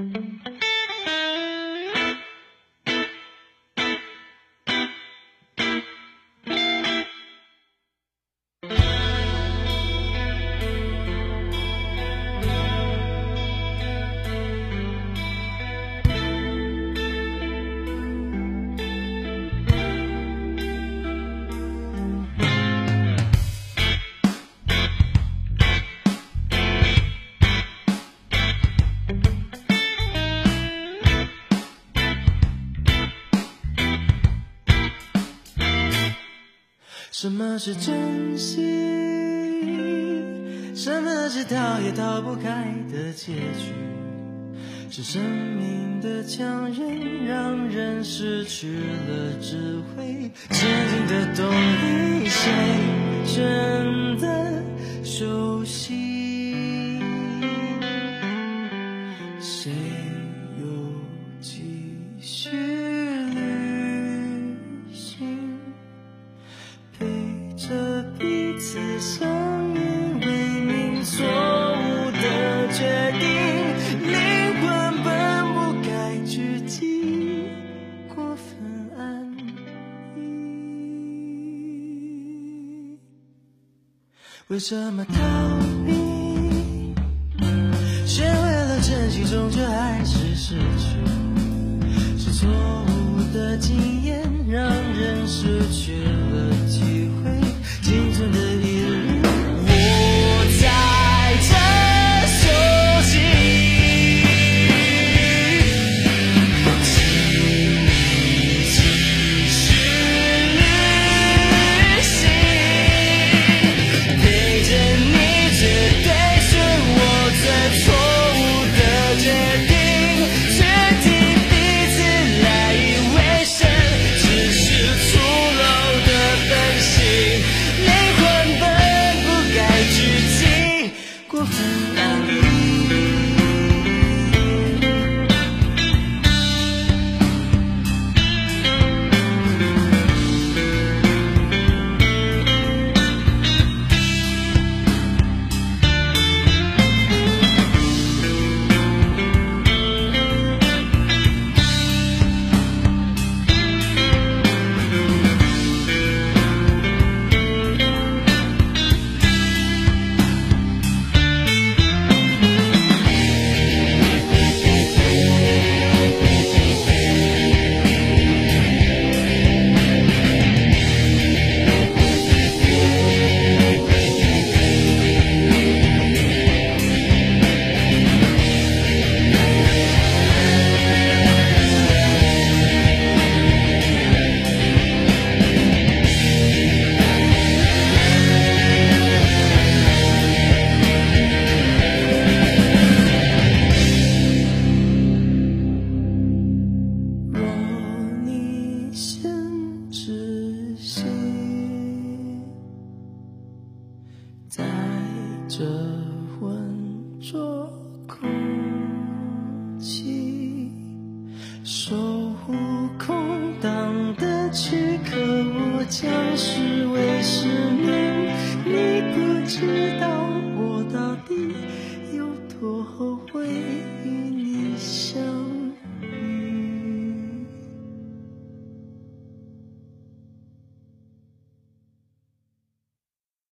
什么是真心？什么是逃也逃不开的结局？是生命的强忍，让人失去了智慧。前进的动力，谁真的熟悉？谁又继续旅行？陪着彼此相依为命，错误的决定，灵魂本不该拘谨，过分安逸。为什么逃避？学会了珍惜，终究还是失去。是错误的经验，让人失去了机会。青春的一日，我在这休息，继续旅行，陪着你，绝对是我最错误的决定。在这浑浊空气，守护空荡的躯壳，我将视为10年，你不知